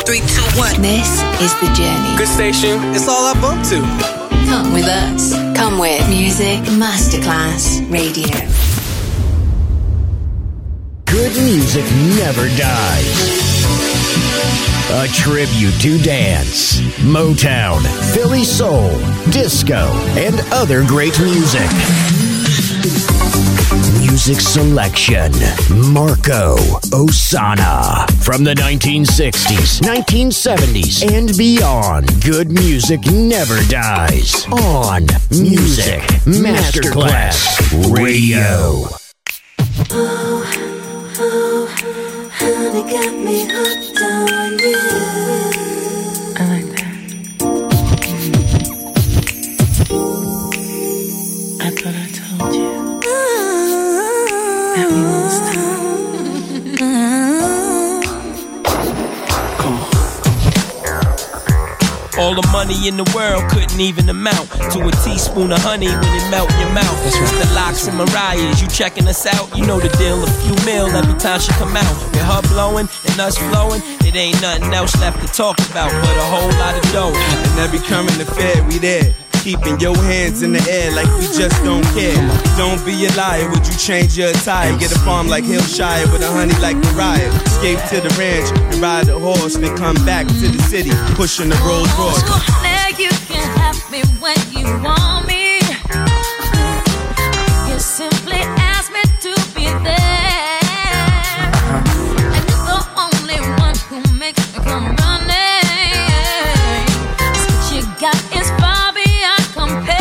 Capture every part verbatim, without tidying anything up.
three, two, one. This is The Journey. Good station. It's all I bump to. Come with us. Come with Music Masterclass Radio. Good music never dies. A tribute to dance, Motown, Philly soul, disco, and other great music. Music selection, Marco Ossanna. From the nineteen sixties, nineteen seventies, and beyond, good music never dies. On Music Masterclass Radio. Oh, oh, honey got me hooked on you. I like that. I thought I told you that we lost time. Come on. All the money in the world couldn't even amount to a teaspoon of honey when it melt in your mouth. That's right. The Locks and Mariah's, you checking us out? You know the deal, a few mil every time she come out. With her blowing and us flowing, it ain't nothing else left to talk about but a whole lot of dough. And every current affair, we there. Keeping your hands in the air like we just don't care. Don't be a liar, would you change your attire? Get a farm like Hillshire with a honey like Mariah. Escape to the ranch and ride a horse, then come back to the city, pushing the Rolls Royce. Oh, honey, you can have me when you want me. You simply ask me to be there. And you're the only one who makes me come running. 'Cause what you got is far beyond compare.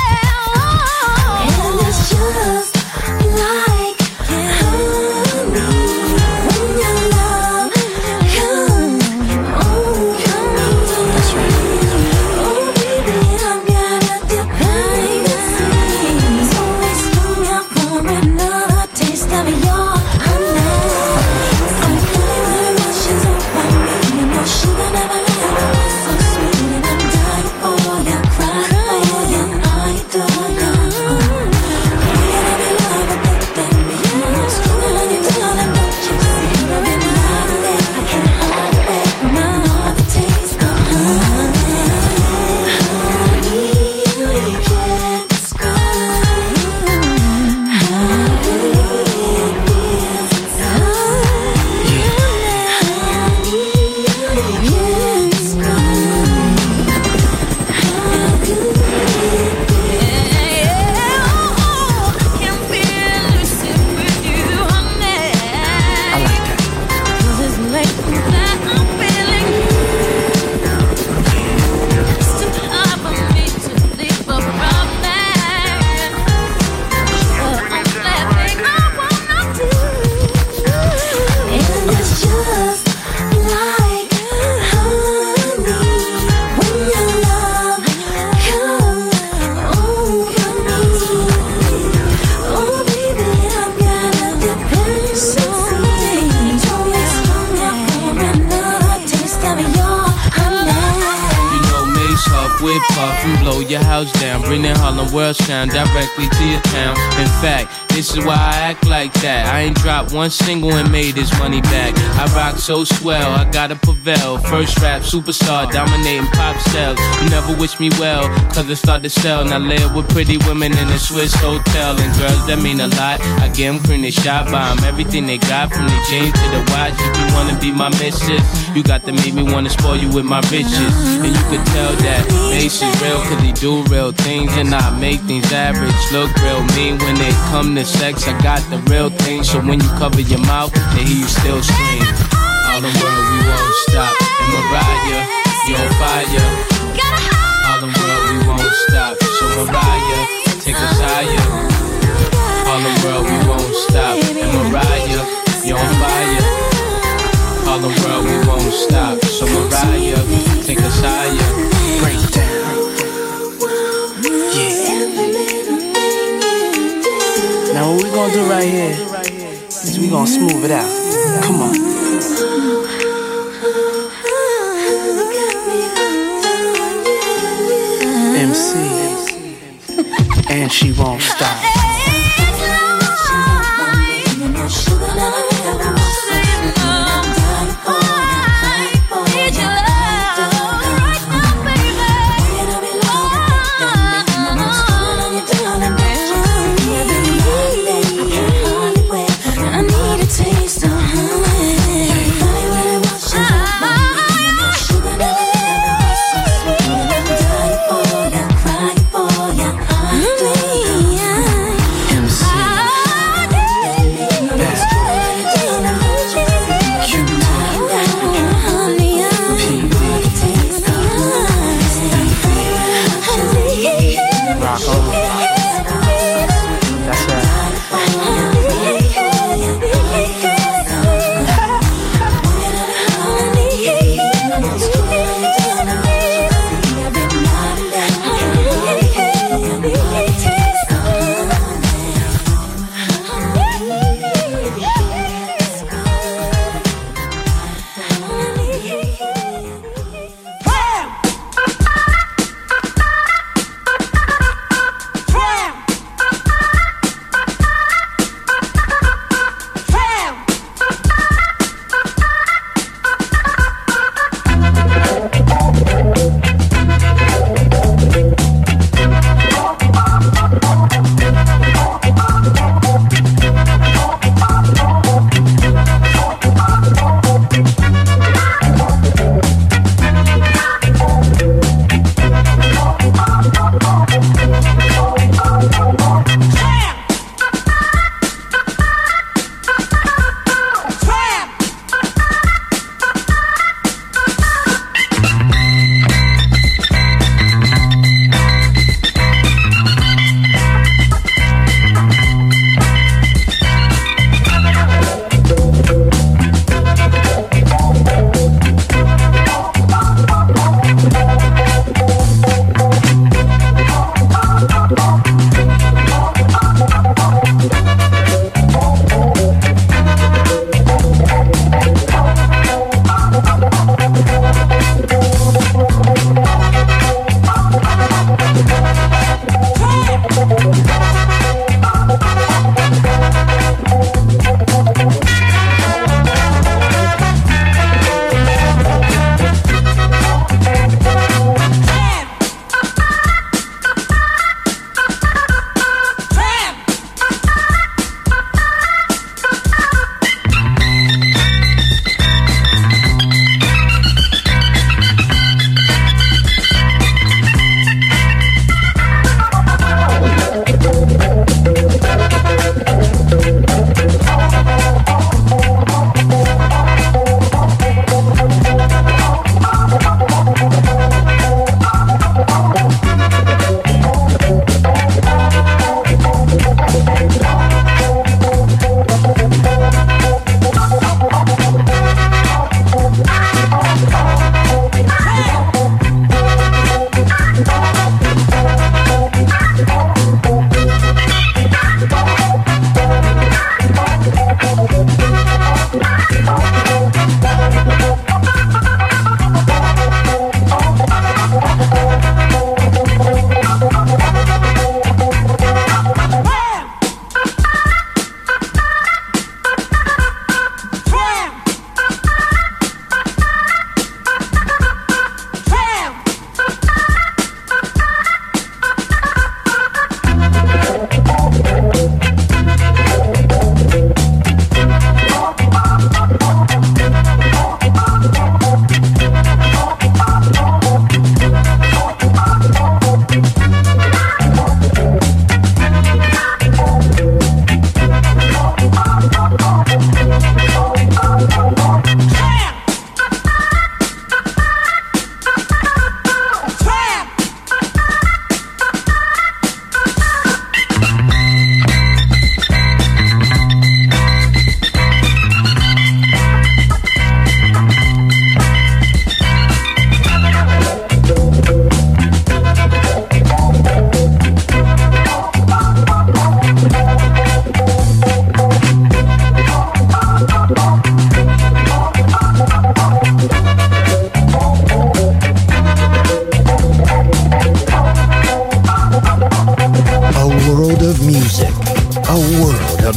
And it's just like honey when your love comes. Oh, come on. That's right. Oh, baby, I've got a dependency. It's always strung out for another taste of your honey. I'm feeling the emotions over me. You know sugar never left. So sweet and I'm dying for you. Cry for you. I adore you. You're gonna be loving that me. I'm screaming on you, darling, don't you see? I'm in love with it. I can't hide it. I know the taste of honey. Honey, you can't describe how good it feels inside. Honey, you can't describe how good it Whip off and blow your house down. Bring that Harlem World sound directly to your town. In fact, this is why I act like that. I ain't dropped one single and made this money back. I rock so swell, I gotta prevail. First rap superstar, dominating pop sales. You never wish me well, cause it start to sell. Now live with pretty women in a Swiss hotel. And girls that mean a lot, I get them cream, they shot by them. Everything they got, from the jeans to the watch. If you wanna be my missus, you got to make me wanna spoil you with my riches. And you could tell that Mace is real, cause he do real things. And I make things average look real mean. When they come to sex, I got the real thing. So when you cover your mouth, they hear you still scream. All the world, we won't stop. And Mariah, you on fire. All the world, we won't stop. So Mariah, take us higher. All the world, we won't stop. And Mariah, you on fire. All the world, we won't stop. So Mariah, take us higher. Break down. Yeah. Now what we gonna do right here is we gonna smooth it out. Come on. M C, and she won't stop. Sugar,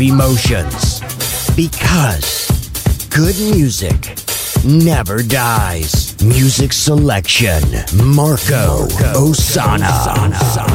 emotions. Because good music never dies. Music selection, Marco Ossanna.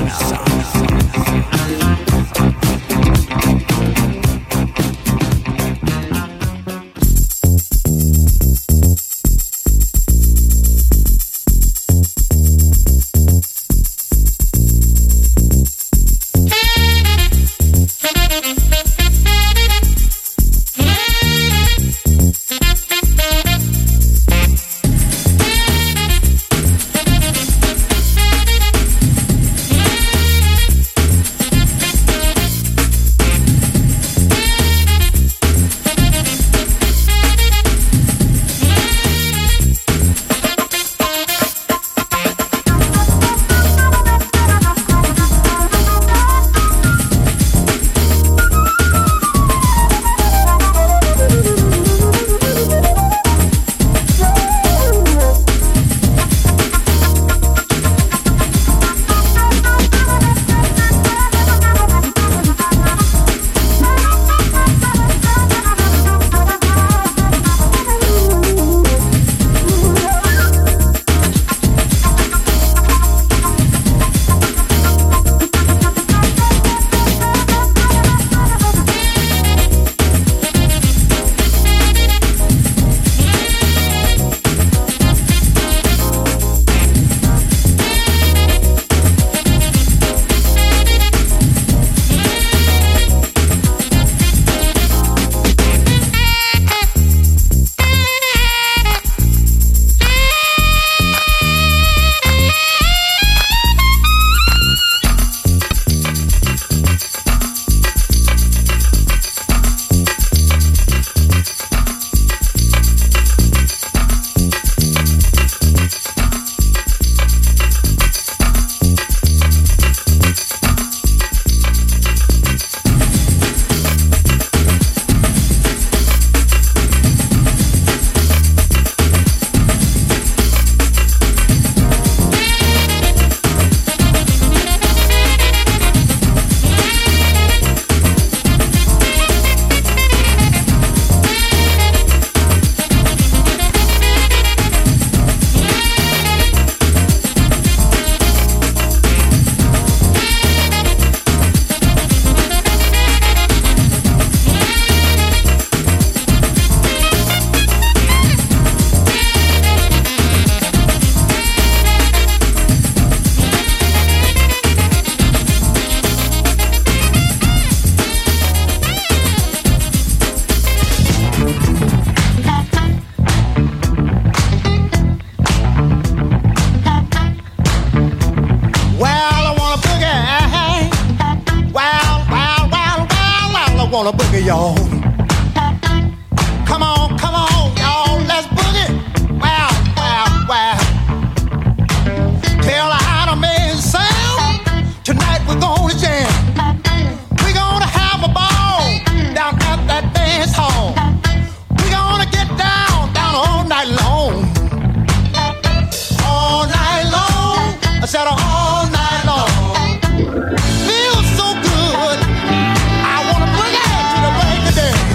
wanna boogie, y'all. Come on, come on, y'all, let's boogie. Wow, wow, wow. Tell her how to make it sound. Tonight we're gonna jam. We're gonna have a ball down at that dance hall. We're gonna get down, down all night long. All night long. I said all night long. Feels so good. I wanna boogie to the break of day.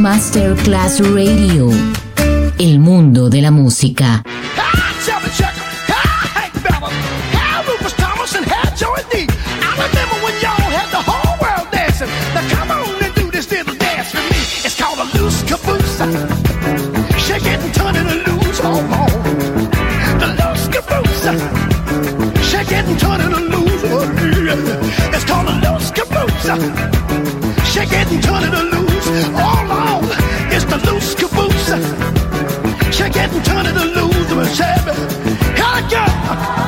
Masterclass Radio. Il mondo della musica. Shake it and turn it and lose, hold on. The loose caboose. Shake it and turn it and lose. It's called a loose caboose. Shake it and turn it and lose. All on. It's the loose caboose. Shake it and turn it and lose. Here it goes.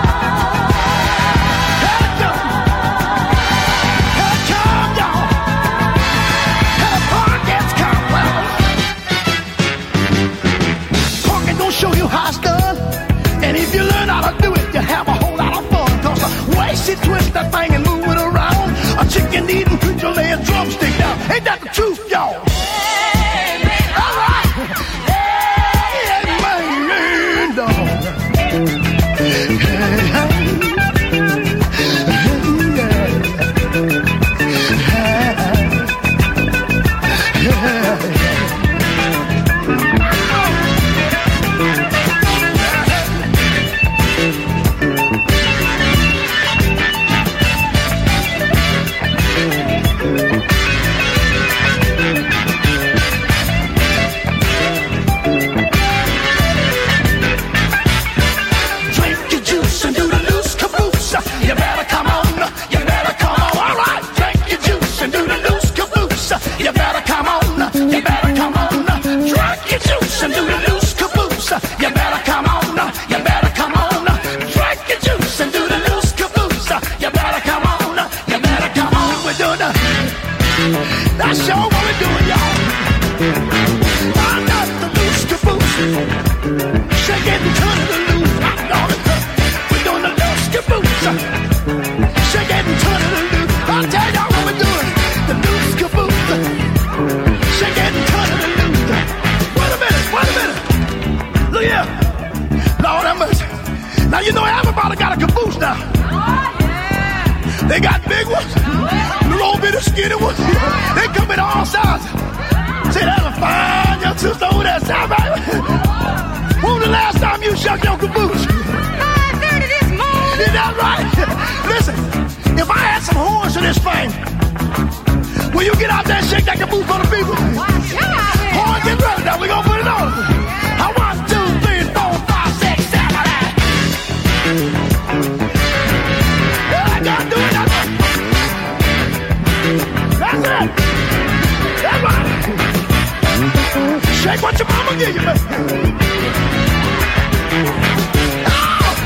Show you how it's done, and if you learn how to do it, you have a whole lot of fun. Cause the way she twists that thing and move it around, a chicken eating creature lay a drumstick down. Ain't that the truth, y'all? Hey, man. All right. Hey, man, dog. Hey, hey, hey, hey. That's sure what we're doing, y'all. I'm not the loose caboose. Shake it and turn it to loose. I'm on it. We're doing the loose caboose. Shake it and turn it to loose. I'll tell y'all what we're doing. The loose caboose. Shake it and turn it to loose. Wait a minute, wait a minute. Look here. Lord have mercy. Now you know everybody got a caboose now. They got big ones, little bitty skinny ones. They come in all sizes. Say, that's a fine young sister over there, sound right? When was the last time you shook your caboose? five thirty this morning. Is that right? Listen, if I had some horns to this thing, will you get out there and shake that caboose for the people? Horn, get ready now, we gonna put it on. I want two, three, four, five, six, seven, eight. I gotta do it. That's it. That's right. Shake what your mama give you, man. Oh!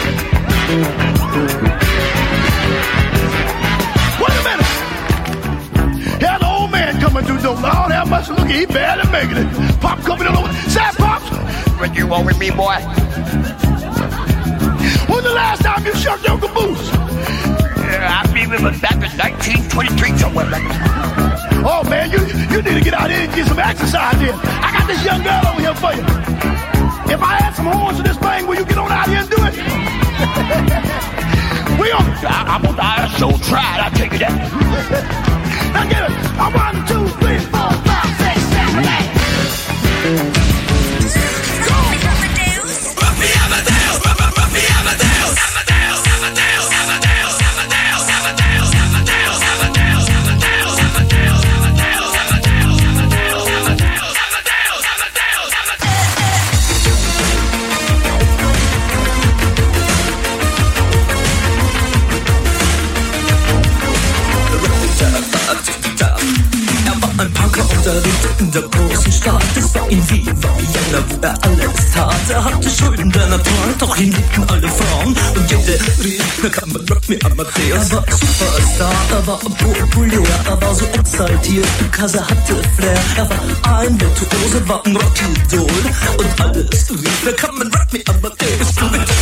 Wait a minute. Here's an old man coming through the door. Lord have mercy. Look, he barely making it. Pop coming in over. Say, Pops. What you want with me, boy? When's the last time you shook your caboose? I remember back in nineteen twenty-three somewhere back there. Oh, man, you you need to get out here and get some exercise in. I got this young girl over here for you. If I had some horns to this thing, will you get on out here and do it? we gonna, I, I'm gonna die so tried, I'll take you that. Now get it. I one, two, three, four, five, six, seven, eight. Go! Ruffy Amadeus! Ruffy Amadeus! Amadeus! Amadeus! Amadeus! Ein Punker und er lebte in der großen Stadt. Es war ihm wie Vienna, wo er alles tat. Er hatte Schulden der Natur, doch ihn liebten alle Frauen. Und jede rief, na kann man Rock me Amadeus. Er war Superstar, er war populär, er war so exaltiert, because er hatte Flair. Er war ein Virtuose, war ein Rockidol. Und alles rief, na kann man Rock me Amadeus. Du mit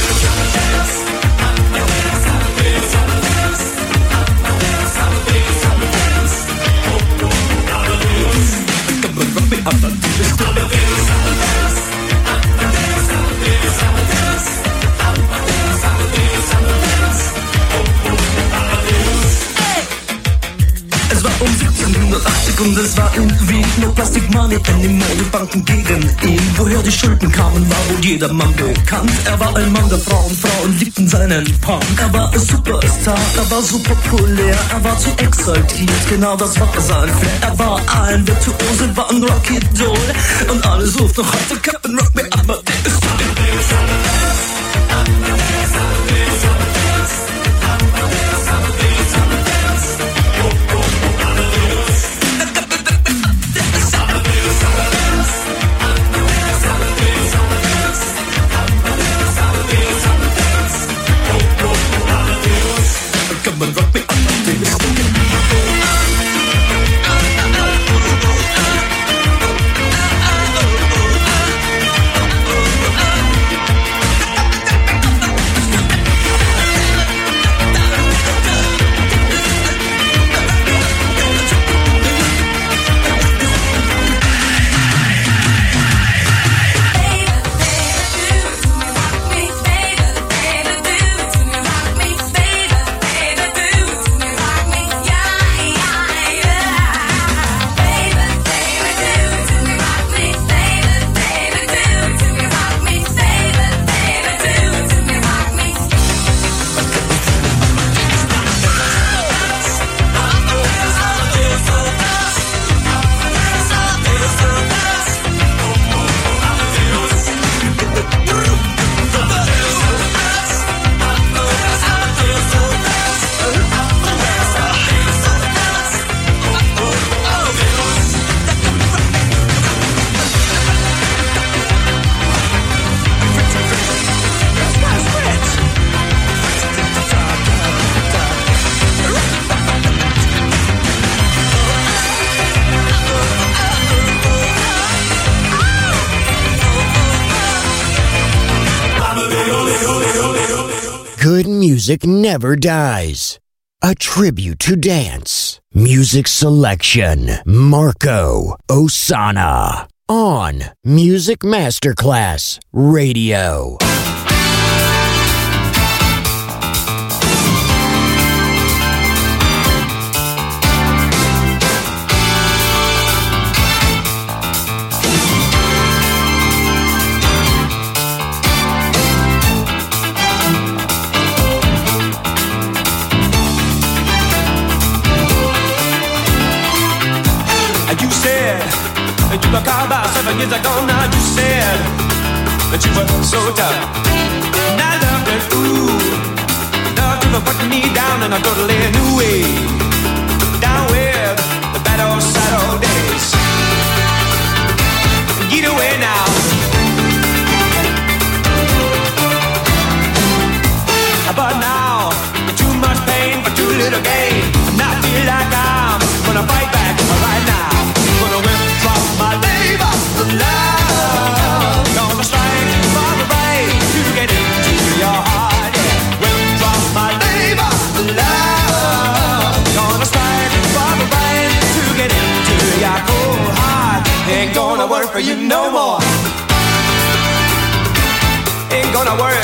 Es war um siebzehnhundertachtzig und es war in Wien. No Plastic Money, Anymore, Banken gegen ihn. Woher die Schulden kamen, war wohl jedermann bekannt. Er war ein Mann der Frauen, Frauen liebten seinen Punk. Er war ein Superstar, er war super populär, er war zu exaltiert, genau das war sein Flair. Er war ein Virtuose, war ein Rocky-Doll und alle suchten noch heute Captain Rock Me Up. Come on, rock me up, Good music never dies. A tribute to dance. Music selection. Marco Ossanna. On Music Masterclass Radio. You were called about seven years ago. Now you said that you were so tough. And I loved it, ooh. Love you for putting me down in a totally new way. Down with the bad old sad old days. Get away now. But now, too much pain for too little gain. And I feel like I'm gonna fight back right now. Gonna withdraw my labor love. Gonna strike for the right to get into your heart. Yeah. Withdraw my labor love. Gonna strike for the right to get into your cold heart. Ain't gonna work for you no more. Ain't gonna work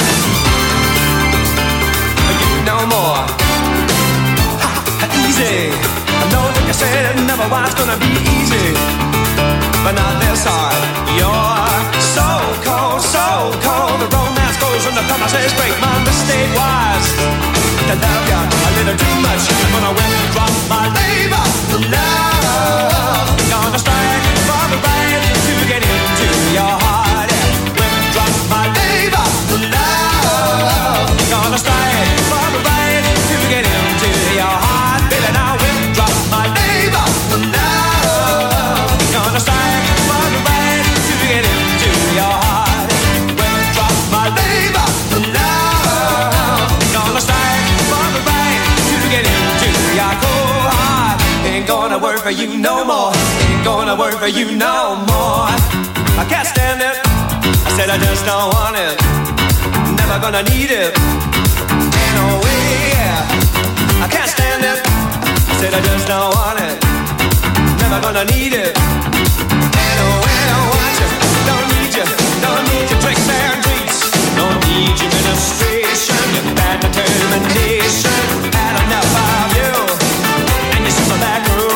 for you no more. Ha, easy. I know that you said it never was gonna be easy, but not this hard. You're so cold, so cold. The romance goes when the promises break. My mistake was to love you a little too much. I'm gonna withdraw my labor love. Gonna strike for the right to get into your heart. Withdraw my labor love. Gonna strike for the right to get into your heart. Baby, now withdraw my labor love. Gonna strike for the right to get into your heart. Withdraw my labor love. Gonna strike for the right to get into your cold heart. Ain't gonna work for you no more. Ain't gonna work for you no more. I can't stand it. I said I just don't want it. Never gonna need it. Ain't no way. I can't stand it. I said I just don't want it. Never gonna need it. Ain't no way I want you. Don't need you. Don't need your tricks and treats. Don't need your ministration. Your bad determination. Had enough of you. And you see my back room.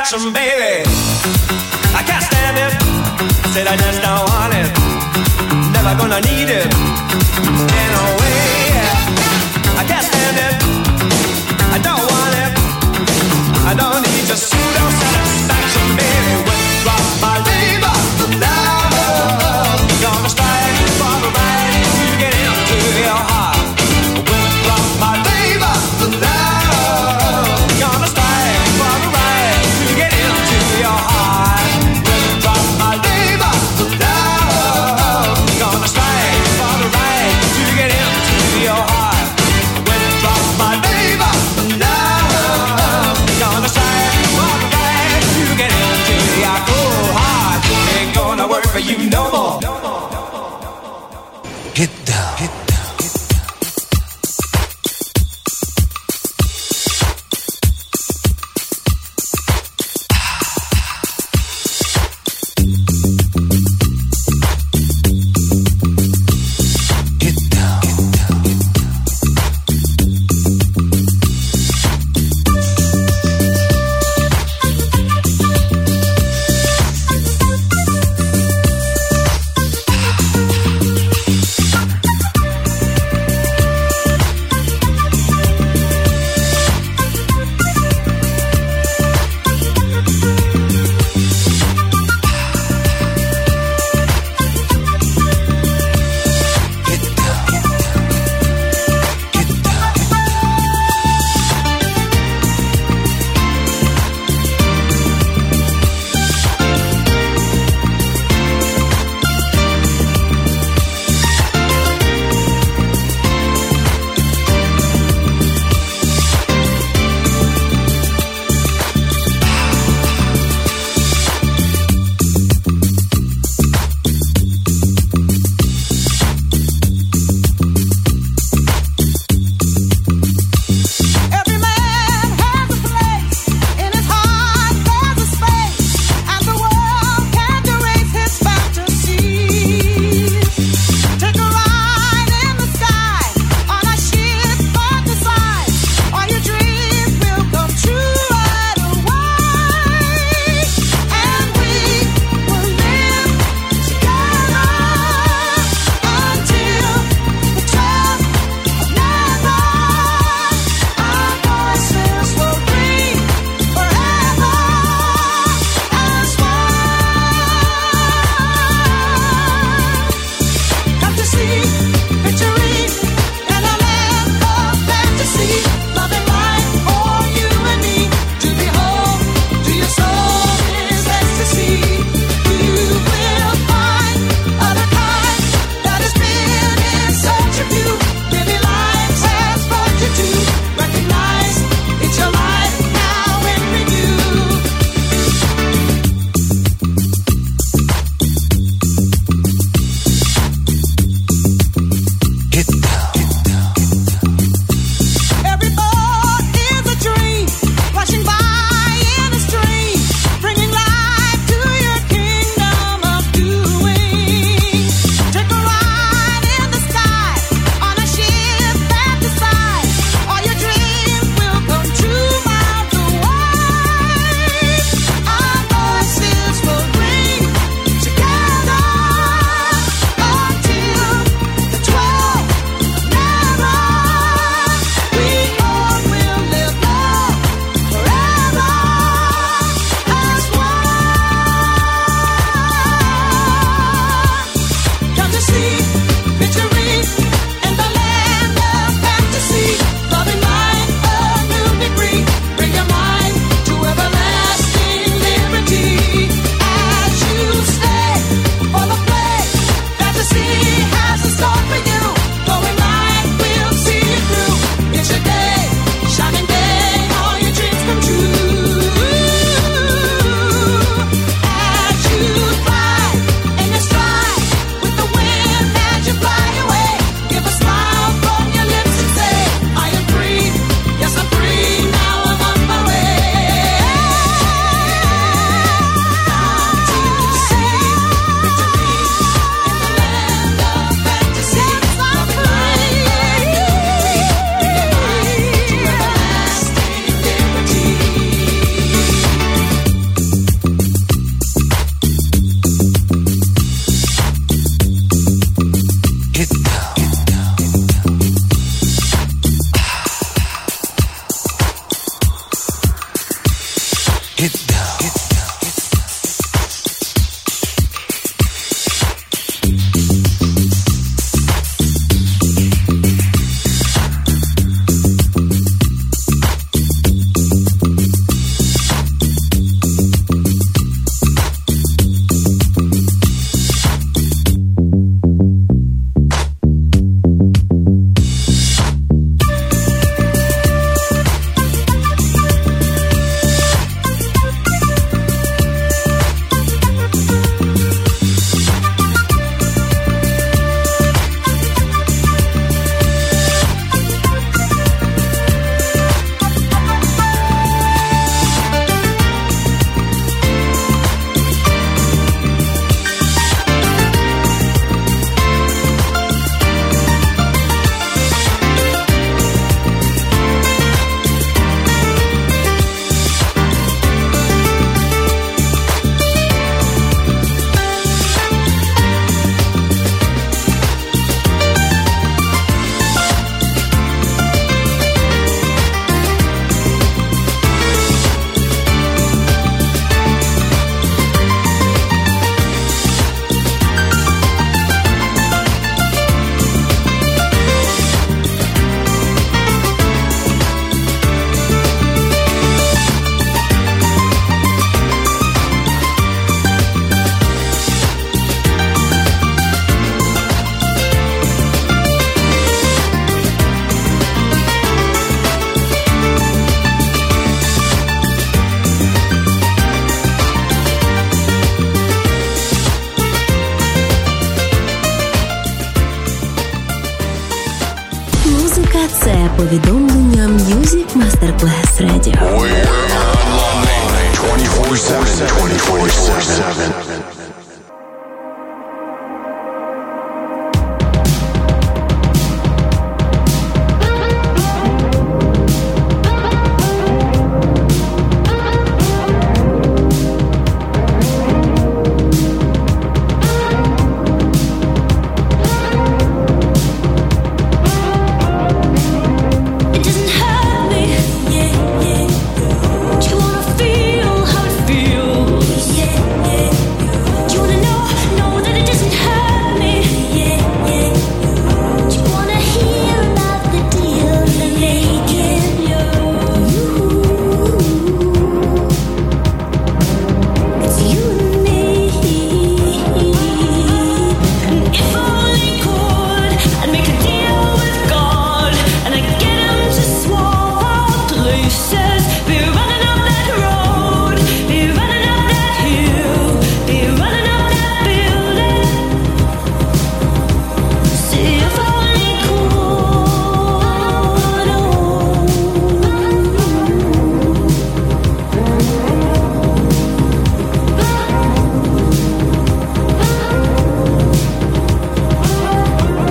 satisfaction, baby. I can't stand it. I said I just don't want it. Never gonna need it. In a way, I can't stand it. I don't want it. I don't need your pseudo satisfaction, baby. Withdraw my labor, love. Gonna strike for the right to get into your heart. Withdraw my labor, love. Gonna strike for the right to get into your heart. Withdraw my labor, love. Gonna strike for the right to get into Get down. Get Це повідомлення Music Masterclass Radio. We're online twenty-four seven, twenty-four seven.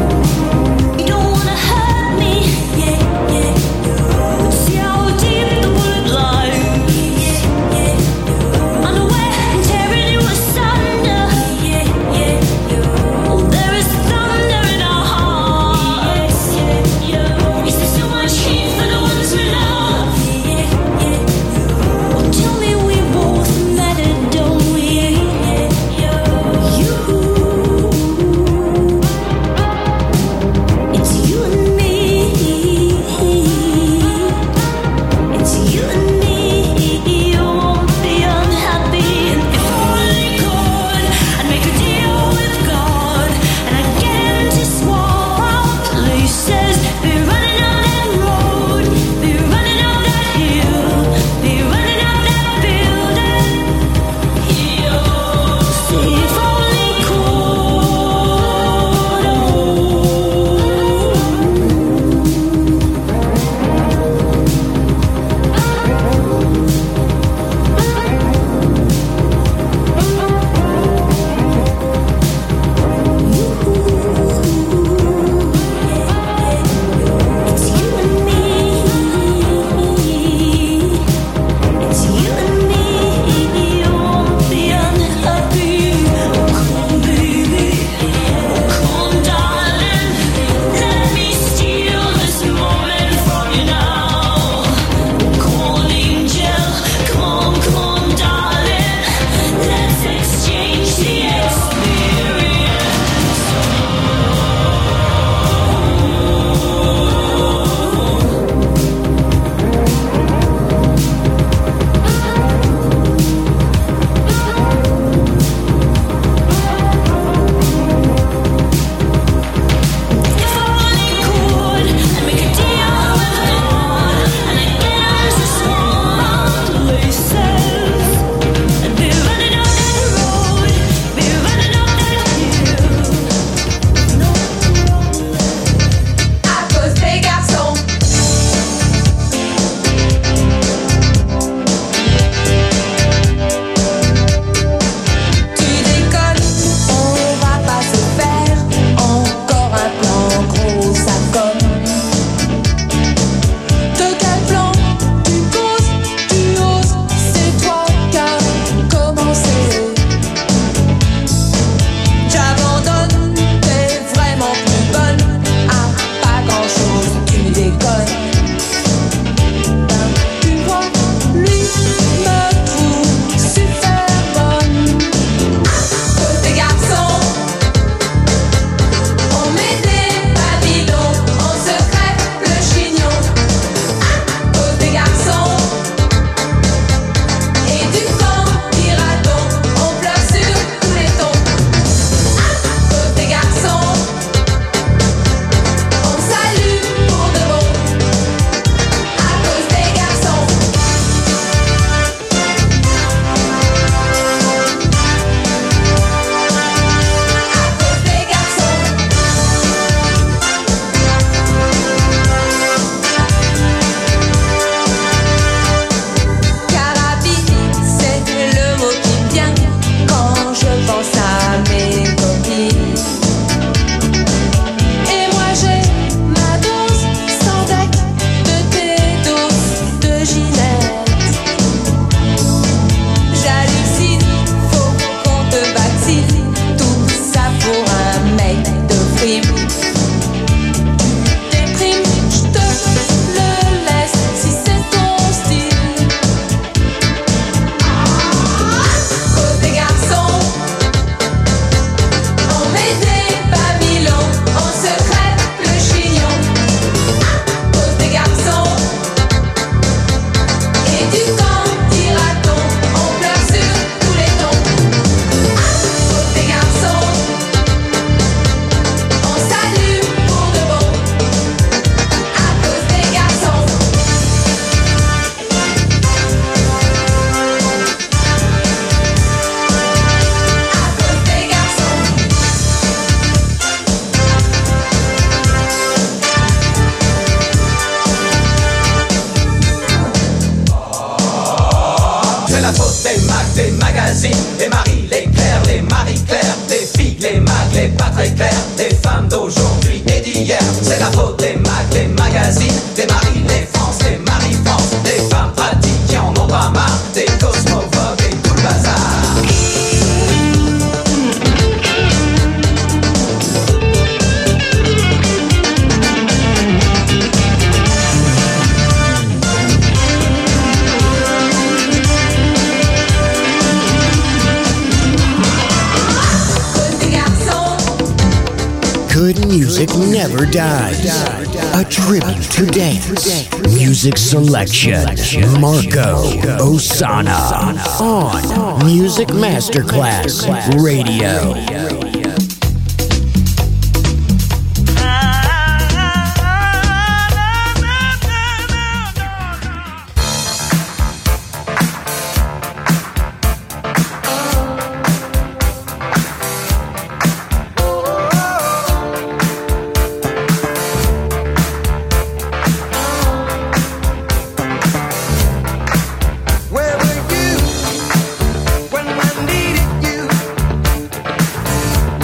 See how deep the C'est la faute des Mac, des magazines, des Marie, les Claire, les Marie-Claire, des Figues, les Mac, les pas très clairs, des femmes d'aujourd'hui et d'hier. C'est la faute des Mac, des magazines, des Marie, les France, les Marie-France, des femmes pratiques qui en ont pas marre, des cosmophobes et tout le bazar. Good music never dies. A tribute to dance. Music selection. Marco Ossanna. On Music Masterclass Radio. Where were you when I needed you?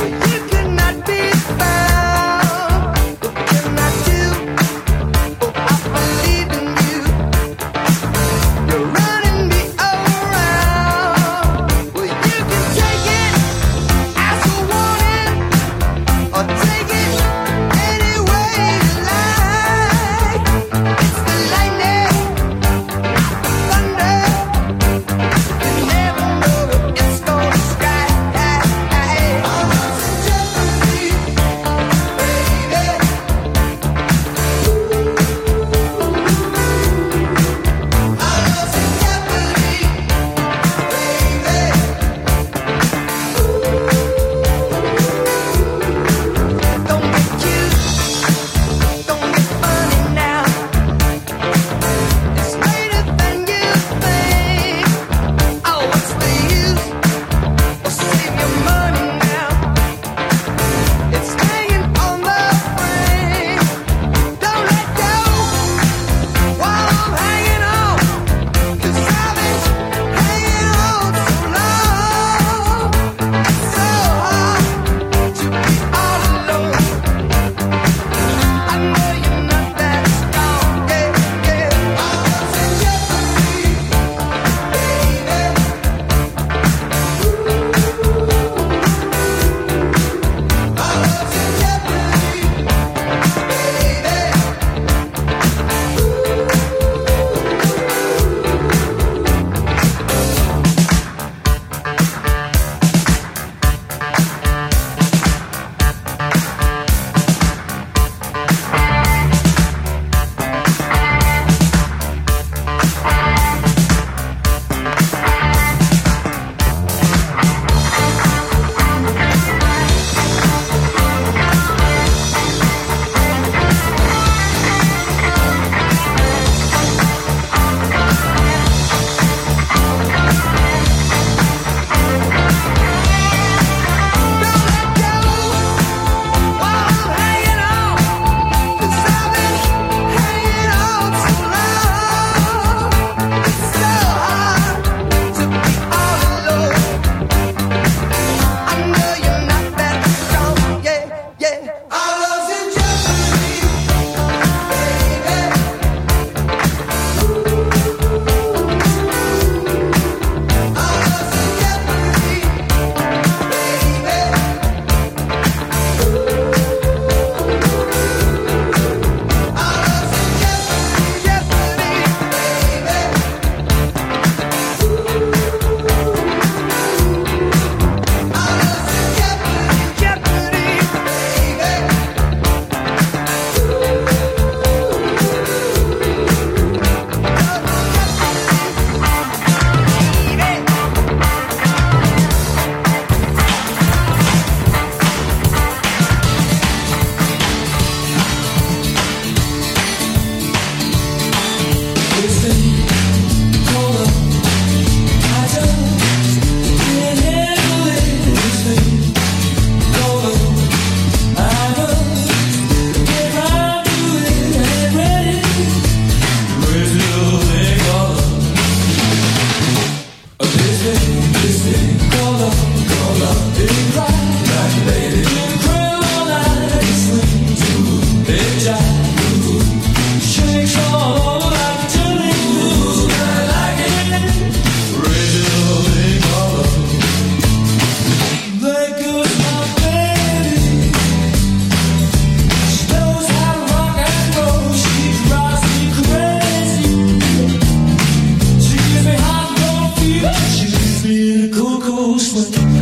in a cool, cool swing.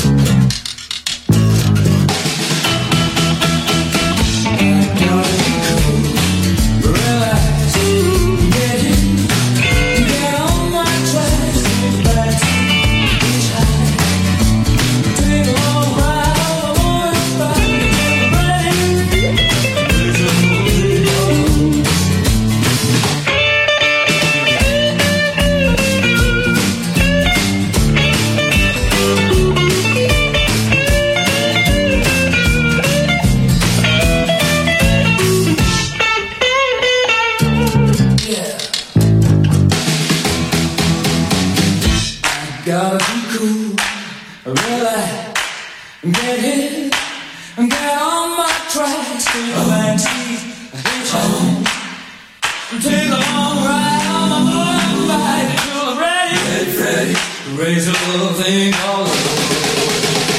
Gotta be cool, relax, get hit, get on my tracks, take a back seat, hitchhike, take a long ride on my motorbike until I'm ready, get ready, raise a little thing all over.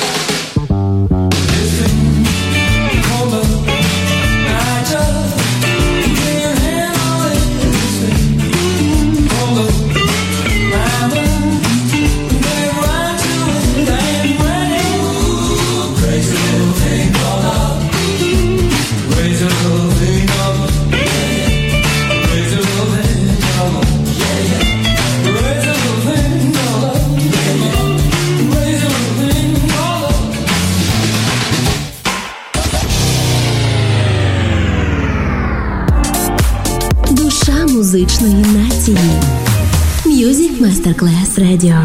This thing called love, I just lay your hand on it. This thing called love, my love. Душа музичної нації. Music Masterclass Radio.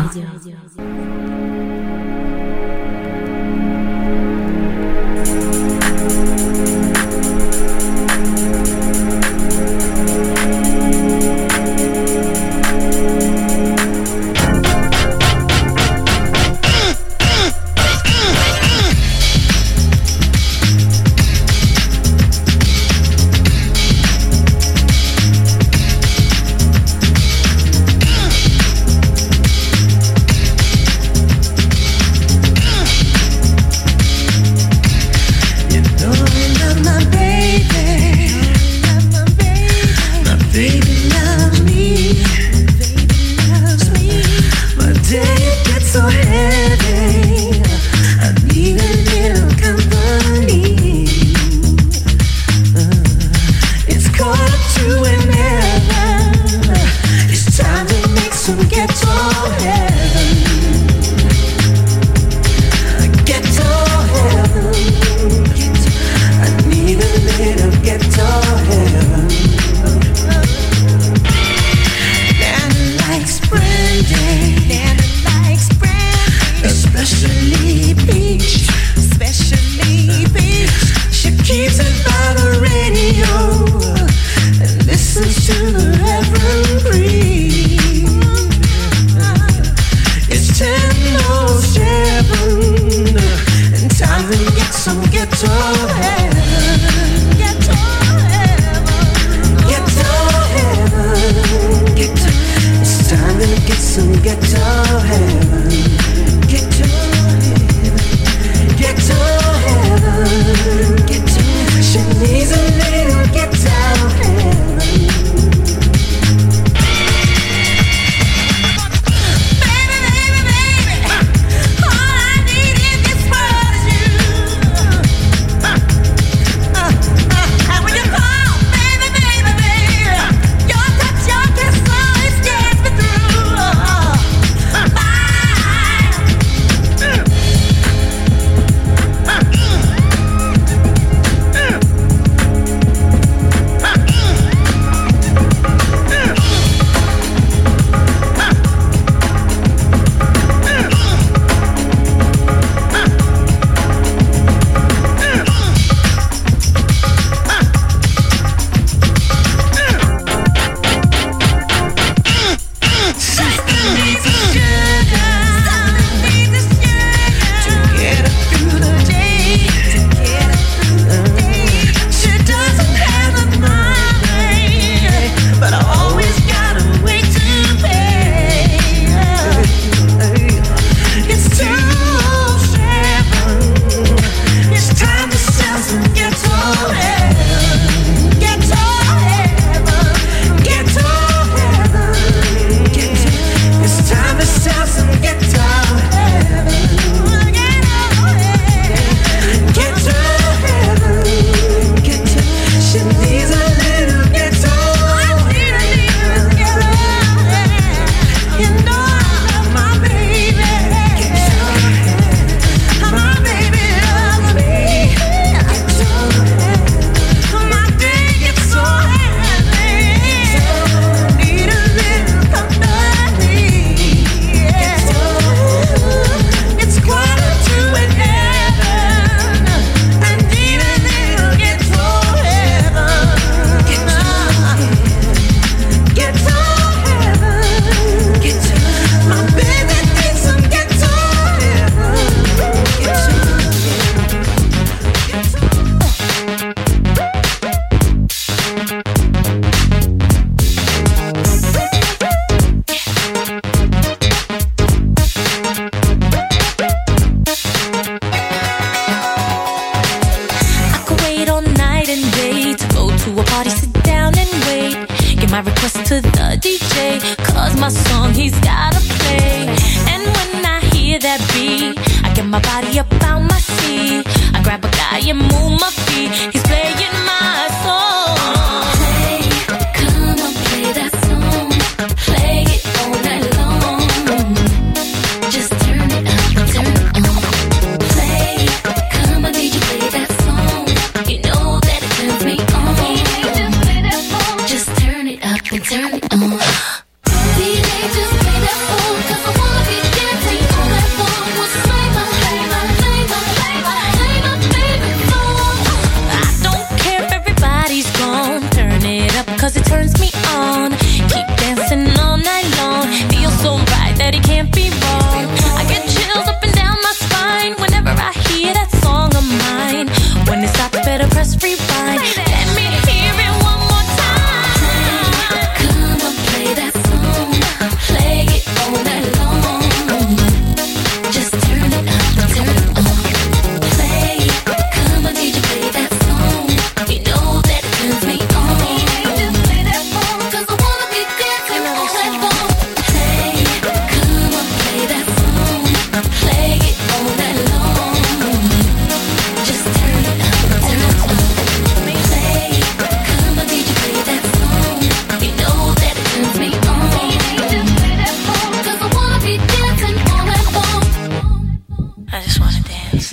my song, he's gotta play. And when I hear that beat, I get my body up out my seat. I grab a guy and move my feet. He's playing my song. Play, come on, play that song. Play it all night long. Just turn it up, turn it on. Play, come on, did you play that song? You know that it turns me on. Just turn it up and turn it on. D J, just play that song, 'cause I wanna be dancing all night long. Well, play my, play my, play my, play my, play my favorite song. I don't care if everybody's gone. Turn it up 'cause it turns me on. Keep dancing all night long. Feels so right that it can't be wrong. I get chills up and down my spine whenever I hear that song of mine. When it stops, better press rewind. Let me hear it one more time. Come on, play that song. Play it all night long. Just turn it up and turn it on. Play, come on, did you play that song? You know that it turns me on. Just play that song, 'cause I wanna be dancing all night long. Play, come on, play that song. Play it all night long. Just turn it up and turn it on. Play, come on, did you play that song? You know that it turns me on. Just play that song, 'cause I wanna be dancing all night long. I just wanna dance.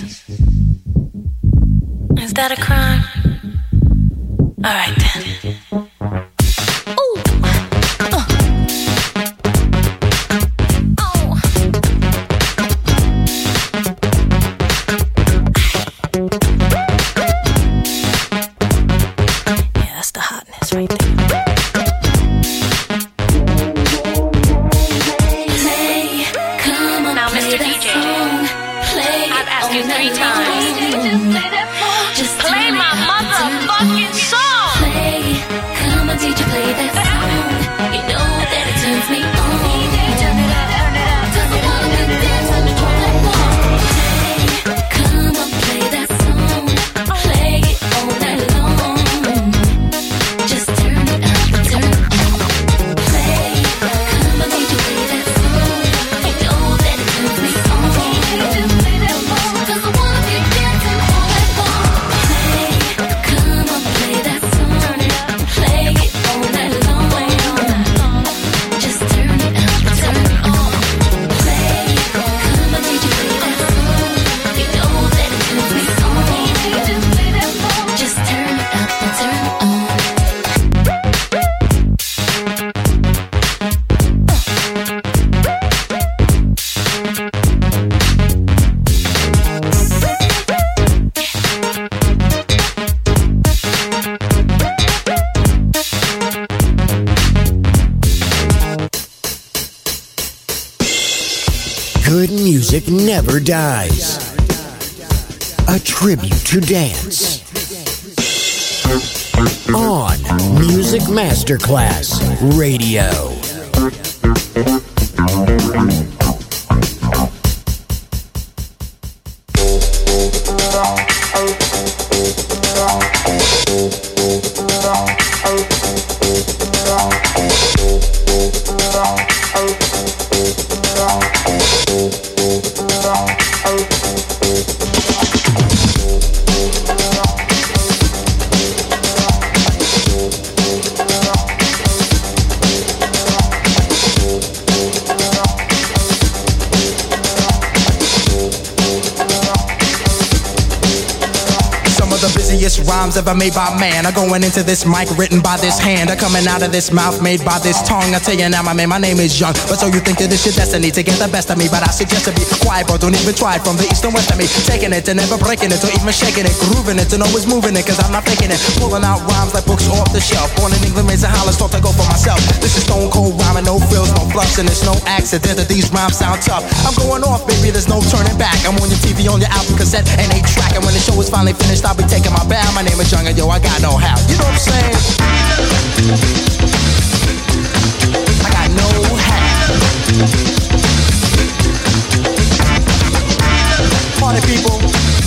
Is that a crime? All right then. Ooh. Uh. Oh. Yeah, that's the hotness right there. Play, come on, now, Mister D J, I've asked you three times. Just play my motherfucking song. Play, come on, did you play that song? You know that it turns me on. Turn it up, turn it up. 'Cause I wanna be dancing all night long. Play, come on, play that song. Play it all night long. Just turn it up and turn it on. Play, come on, did you play that song? You know that it turns me on. Just play that song, 'cause I wanna be dancing all night long. Play, come on, play that song. Play it all night long. Just turn it up and turn it on. Play, come on, did you play that song? You know that it turns me on. Just play that song. Just turn it up and turn it on. Good music never dies. A tribute to dance. On Music Masterclass Radio. Rhymes ever made by man are going into this mic written by this hand are coming out of this mouth made by this tongue. I tell you now, my man, my name is Young. But so you think that it's your destiny to get the best of me? But I suggest to be quiet, bro. Don't even try it. From the east and west of me, taking it and never breaking it, or even shaking it, grooving it and always moving it. 'Cause I'm not faking it, pulling out rhymes like books off the shelf. Born in England, raised in Hollis, thought to go for myself. This is stone cold rhyming, no frills, no fluffs, and it's no accident that these rhymes sound tough. I'm going off, baby. There's no turning back. I'm on your T V, on your album cassette, and eight track. And when the show is finally finished, I'll be taking my bow. My name is Young, and yo, I got no how. You know what I'm saying? I got no how. Party people,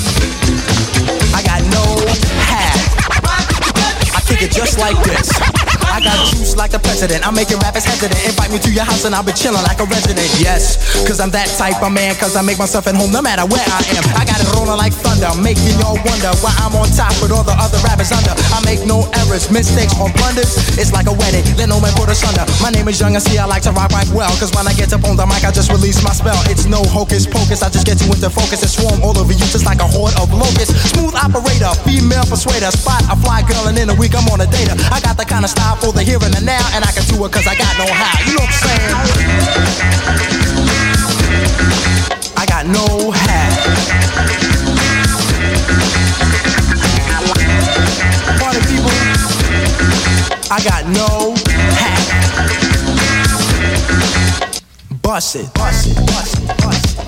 I got no how. I kick it just like this. I got juice like a pet president. I'm making rappers hesitant. Invite me to your house and I'll be chilling like a resident. Yes, cause I'm that type of man. Cause I make myself at home no matter where I am. I got it rolling like thunder, making y'all wonder why I'm on top with all the other rappers under. I make no errors, mistakes or blunders. It's like a wedding, let no man put us under. My name is Young and see I like to rock right well. Cause when I get up on the mic I just release my spell. It's no hocus pocus, I just get you into focus and swarm all over you just like a horde of locusts. Smooth operator, female persuader, spot a fly girl and in a week I'm on a data. I got the kind of style for the here and the now, and I can do it cause I got no how. You know what I'm saying? I got no hat. Party people, I got no hat. Bust it, bust it, bust it, bust it.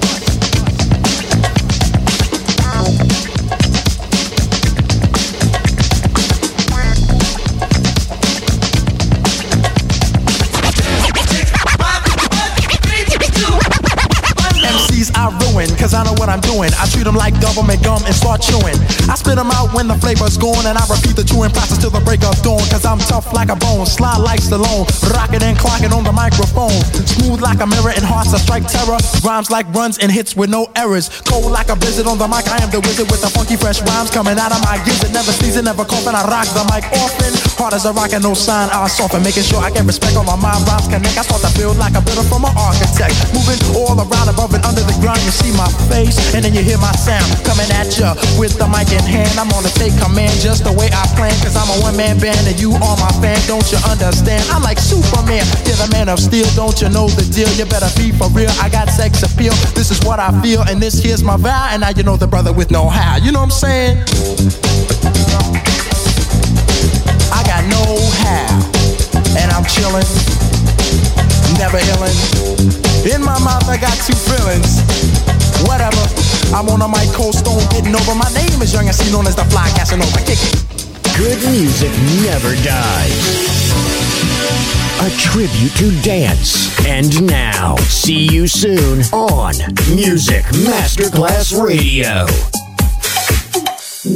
I ruin, cause I know what I'm doing. I treat them like government gum and start chewing. I spit them out when the flavor's gone, and I repeat the chewing process till the break of dawn. Cause I'm tough like a bone, slide like Stallone, rocking and clocking on the microphone. Smooth like a mirror and hearts that strike terror. Rhymes like runs and hits with no errors. Cold like a blizzard on the mic, I am the wizard with the funky fresh rhymes coming out of my gizzard. Never sneezing, never coughing, I rock the mic often. Hard as a rock and no sign, I soften. Making sure I get respect on my mind, rhymes connect. I start to build like a builder from an architect. Moving all around above and under the ground, you see my face, and then you hear my sound coming at ya with the mic in hand. I'm gonna take command just the way I plan, cause I'm a one-man band and you are my fan. Don't you understand? I'm like Superman, you're the man of steel. Don't you know the deal? You better be for real. I got sex appeal, this is what I feel, and this here's my vow. And now you know the brother with no how. You know what I'm saying? I got no how, and I'm chillin', never illin'. In my mouth I got two feelings. Whatever, I'm on a mic, cold stone, getting over. My name is Young and C, known as the Fly Casanova. Kick it. Good music never dies. A tribute to dance. And now, see you soon on Music Masterclass Radio.